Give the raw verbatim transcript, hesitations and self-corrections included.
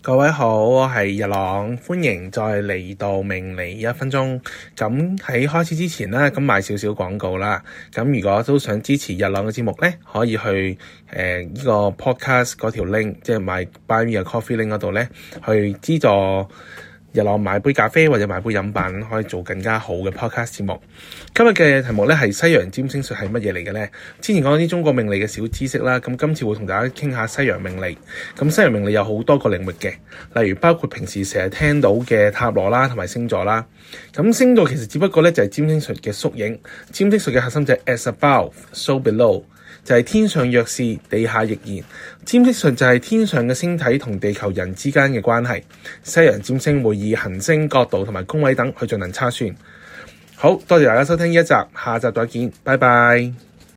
各位好，我係日朗，歡迎再嚟到命理一分鐘。咁喺開始之前咧，咁賣少少廣告啦。咁如果都想支持日朗嘅節目咧，可以去誒呢、呃這個 podcast 嗰條 link，即係買 Buy Me a Coffee link 嗰度咧，去資助日朗買杯咖啡或者買杯飲品，可以做更加好嘅 podcast 節目。今日嘅題目咧係西洋占星術係乜嘢嚟嘅咧？之前講啲中國命理嘅小知識啦，咁今次會同大家傾下西洋命理。咁西洋命理有好多個領域嘅，例如包括平時成日聽到嘅塔羅啦，同埋星座啦。咁星座其實只不過咧就係占星術嘅縮影。占星術嘅核心就係 as above, so below， 就係天上若是，地下亦然。占星術就係天上嘅星體同地球人之間嘅關係。西洋占星會以行星、角度同埋宮位等去進行測算。好多謝大家收聽呢一集，下集再見，拜拜。